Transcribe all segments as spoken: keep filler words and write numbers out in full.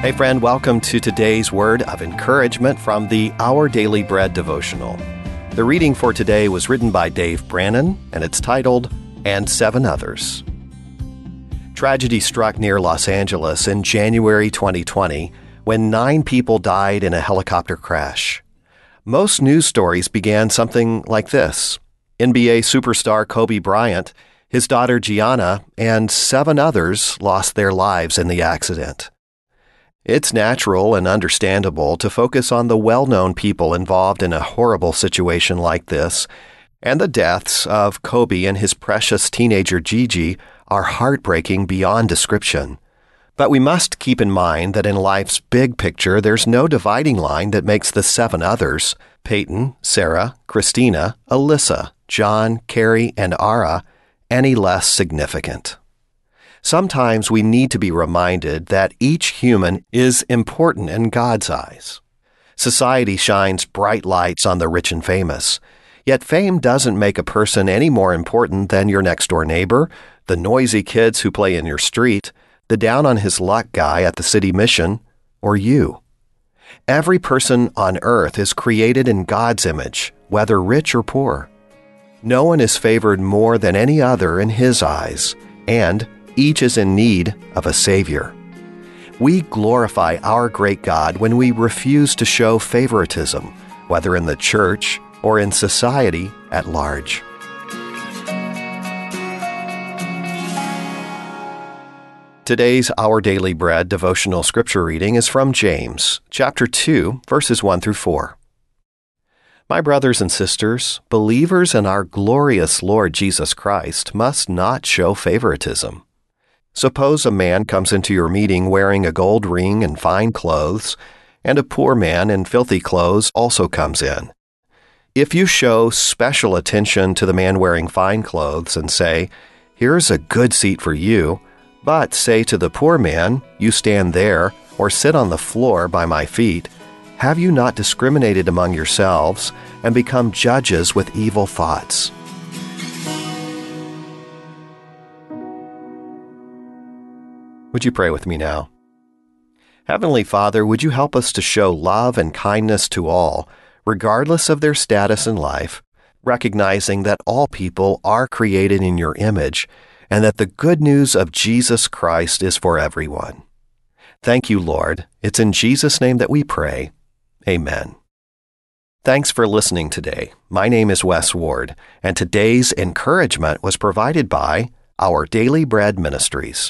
Hey friend, welcome to today's word of encouragement from the Our Daily Bread devotional. The reading for today was written by Dave Brannon, and it's titled, And Seven Others. Tragedy struck near Los Angeles in January twenty twenty when nine people died in a helicopter crash. Most news stories began something like this. N B A superstar Kobe Bryant, his daughter Gianna, and seven others lost their lives in the accident. It's natural and understandable to focus on the well-known people involved in a horrible situation like this, and the deaths of Kobe and his precious teenager Gigi are heartbreaking beyond description. But we must keep in mind that in life's big picture, there's no dividing line that makes the seven others, Peyton, Sarah, Christina, Alyssa, John, Carrie, and Ara, any less significant. Sometimes we need to be reminded that each human is important in God's eyes. Society shines bright lights on the rich and famous, yet fame doesn't make a person any more important than your next-door neighbor, the noisy kids who play in your street, the down-on-his-luck guy at the city mission, or you. Every person on earth is created in God's image, whether rich or poor. No one is favored more than any other in His eyes, and each is in need of a Savior. We glorify our great God when we refuse to show favoritism, whether in the church or in society at large. Today's Our Daily Bread devotional scripture reading is from James, chapter two, verses one through four. My brothers and sisters, believers in our glorious Lord Jesus Christ must not show favoritism. Suppose a man comes into your meeting wearing a gold ring and fine clothes, and a poor man in filthy clothes also comes in. If you show special attention to the man wearing fine clothes and say, "Here's a good seat for you," but say to the poor man, "You stand there, or sit on the floor by my feet," have you not discriminated among yourselves and become judges with evil thoughts? Would you pray with me now? Heavenly Father, would you help us to show love and kindness to all, regardless of their status in life, recognizing that all people are created in your image, and that the good news of Jesus Christ is for everyone. Thank you, Lord. It's in Jesus' name that we pray. Amen. Thanks for listening today. My name is Wes Ward, and today's encouragement was provided by Our Daily Bread Ministries.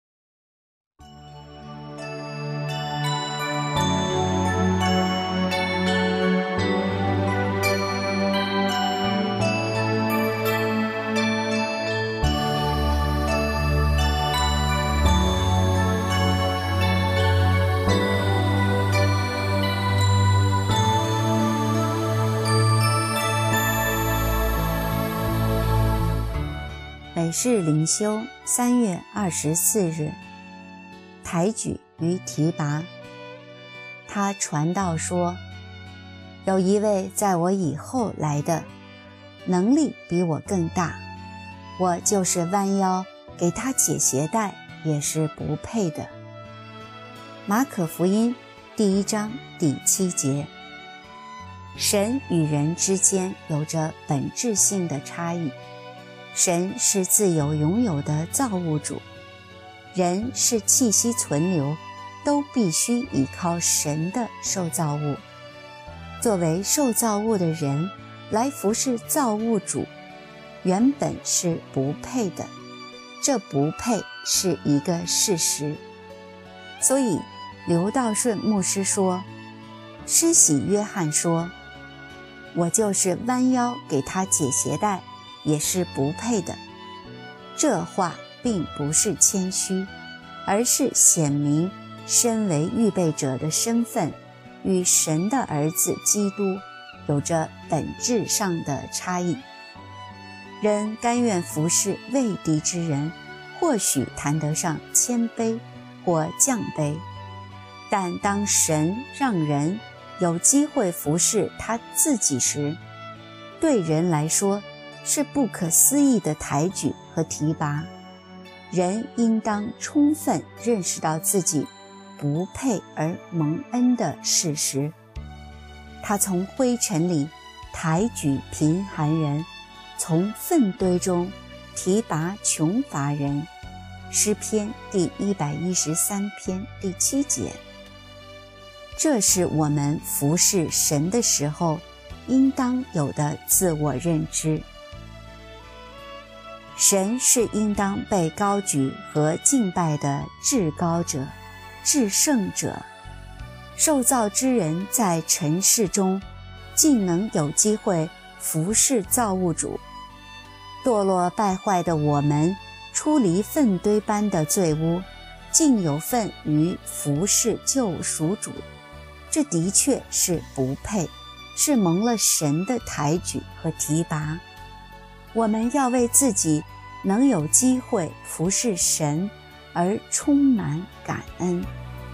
每日灵修三月二十四日，抬举与提拔。他传道说，有一位在我以后来的，能力比我更大，我就是弯腰给他解鞋带也是不配的。马可福音第一章第七节。神与人之间有着本质性的差异。神是自由拥有的造物主，人是气息存留，都必须依靠神的受造物。作为受造物的人来服侍造物主，原本是不配的，这不配是一个事实。所以刘道顺牧师说，施洗约翰说，我就是弯腰给他解鞋带也是不配的。这话并不是谦虚，而是显明身为预备者的身份与神的儿子基督有着本质上的差异。人甘愿服侍畏敌之人，或许谈得上谦卑或降卑，但当神让人有机会服侍他自己时，对人来说是不可思议的抬举和提拔。人应当充分认识到自己不配而蒙恩的事实。他从灰尘里抬举贫寒人，从粪堆中提拔穷乏人。诗篇第一百一十三篇第七节。这是我们服侍神的时候应当有的自我认知。神是应当被高举和敬拜的至高者、至圣者。受造之人在尘世中竟能有机会服侍造物主，堕落败坏的我们出离粪堆般的罪污，竟有份于服侍救赎主，这的确是不配，是蒙了神的抬举和提拔。我们要为自己能有机会服侍神而充满感恩。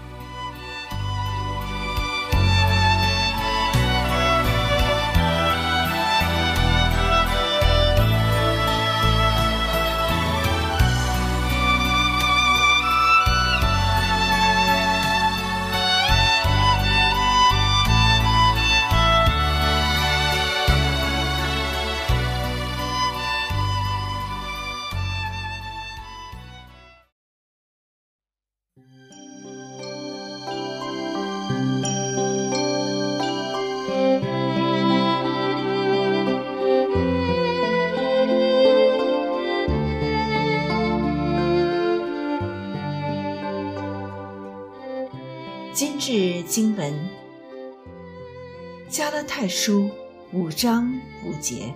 今日经文，加拉太书五章五节。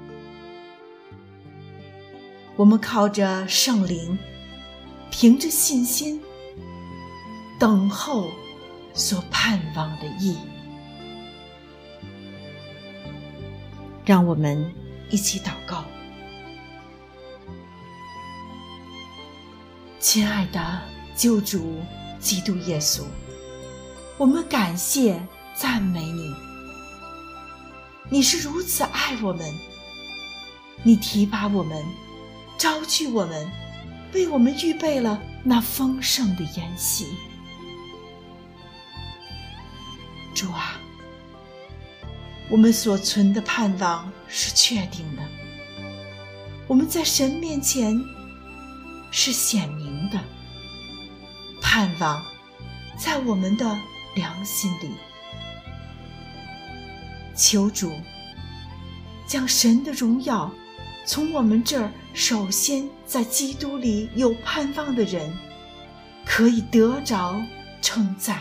我们靠着圣灵，凭着信心，等候所盼望的义。让我们一起祷告。亲爱的救主基督耶稣，我们感谢赞美你，你是如此爱我们，你提拔我们，招聚我们，为我们预备了那丰盛的筵席。主啊，我们所存的盼望是确定的，我们在神面前是显明的，盼望在我们的良心里。求主将神的荣耀从我们这儿首先在基督里有盼望的人可以得着称赞。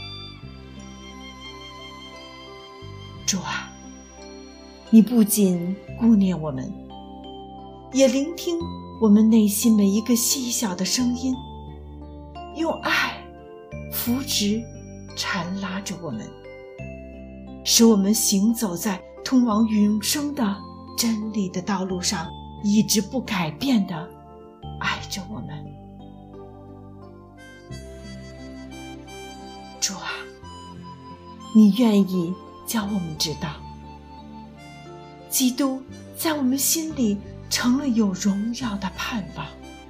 主啊，你不仅顾念我们，也聆听我们内心每一个细小的声音，用爱扶植缠拉着我们，使我们行走在通往永生的真理的道路上，一直不改变地爱着我们。主啊，你愿意叫我们知道，基督在我们心里成了有荣耀的盼望。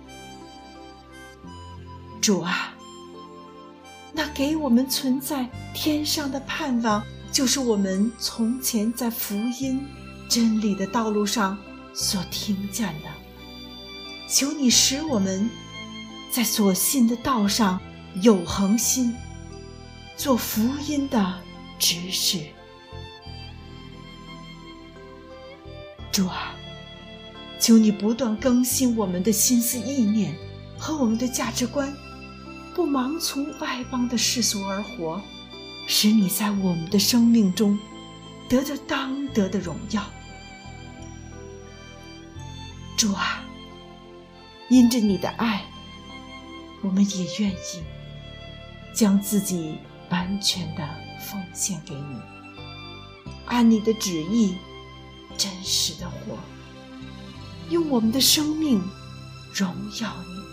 主啊，那给我们存在天上的盼望，就是我们从前在福音真理的道路上所听见的。求你使我们在所信的道上有恒心，做福音的执事。主啊，求你不断更新我们的心思意念和我们的价值观，不盲从外邦的世俗而活，使你在我们的生命中得着当得的荣耀。主啊，因着你的爱，我们也愿意将自己完全的奉献给你，按你的旨意真实的活，用我们的生命荣耀你。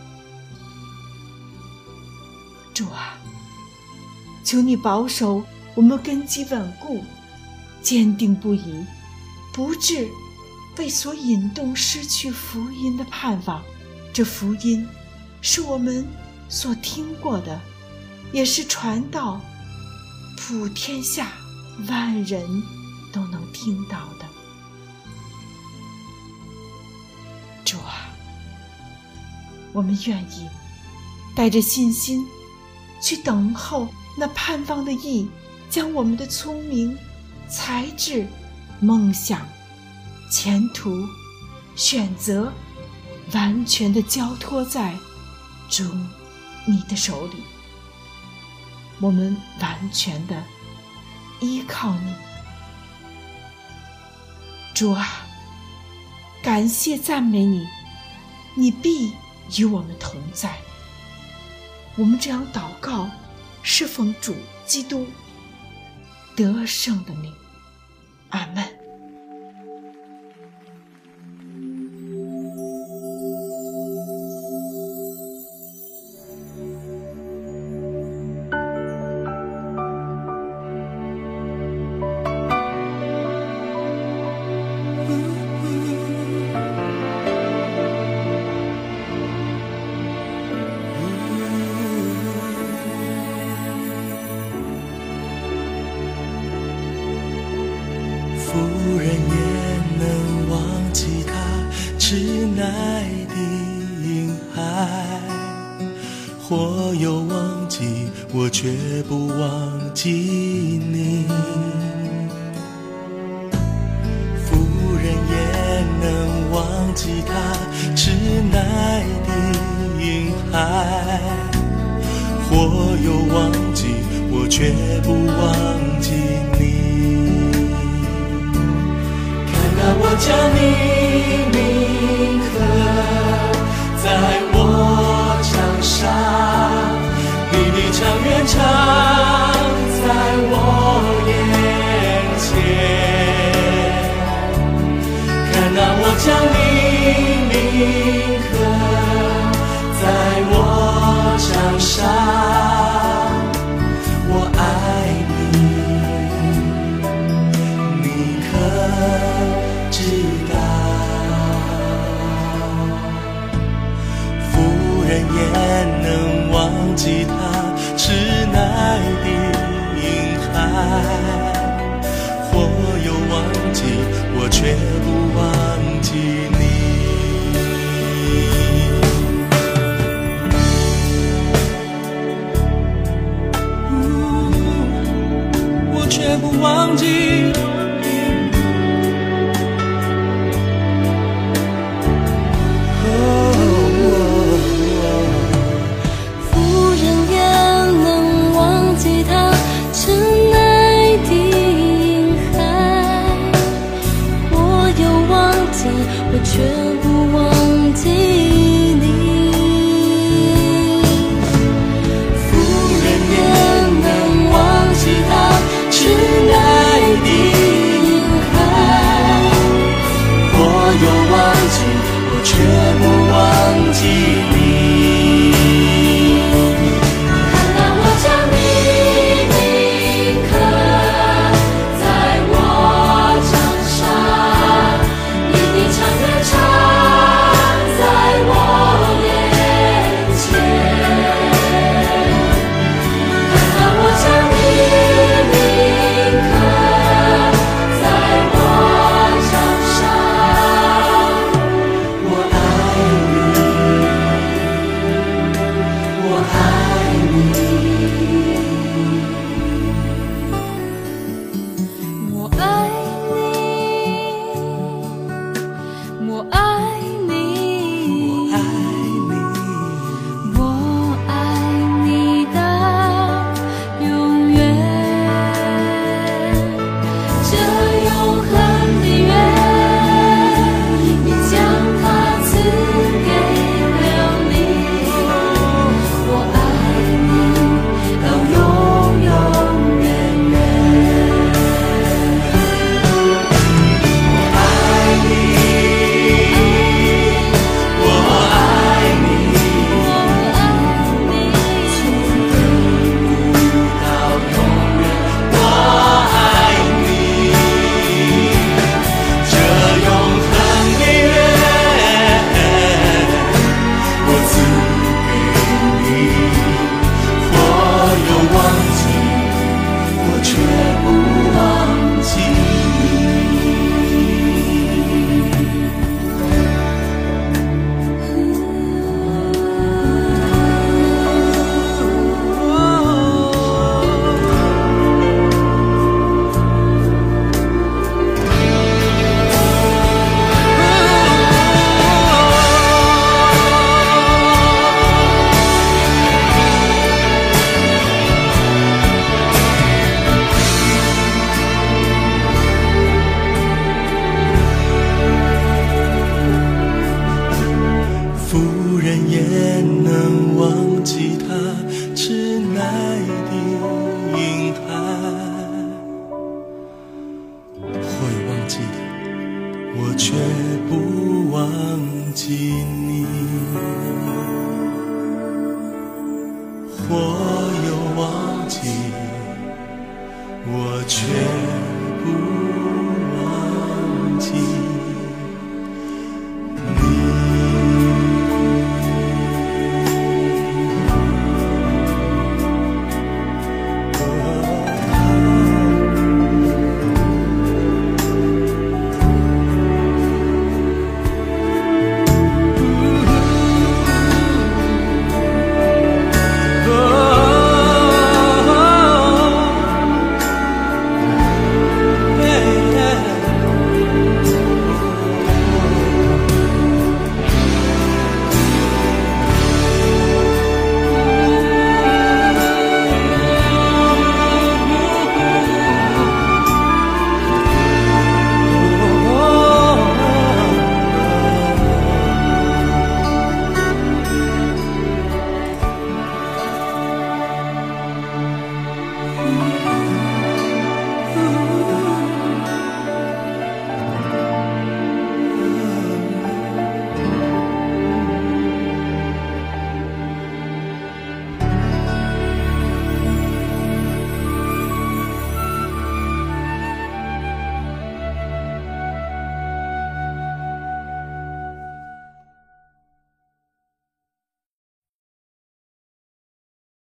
主啊，求你保守我们根基稳固，坚定不移，不致被所引动失去福音的盼望。这福音是我们所听过的， 也是传到普天下万人都能听到的。主啊，我们愿意带着信心去等候那盼望的义，将我们的聪明、才智、梦想、前途、选择完全的交托在主你的手里。我们完全的依靠你。主啊，感谢赞美你，你必与我们同在。我们这样祷告，是奉主基督得胜的名。阿们。 夫人也能忘记他痴奈的婴孩，或有忘记我，却不忘记你。夫人也能忘记他痴奈的婴孩，或有忘记我，却不忘记你。我将你铭刻在我墙上，你的长远长在我眼前。看啊，我将你铭刻在我墙上，我爱你，你可知道？夫人也能忘记他痴奈的婴孩，或有忘记我，却不忘记你。我却不忘记。 有人也能忘记他痴奈的婴孩，会忘记我却不忘记你，或又忘记我却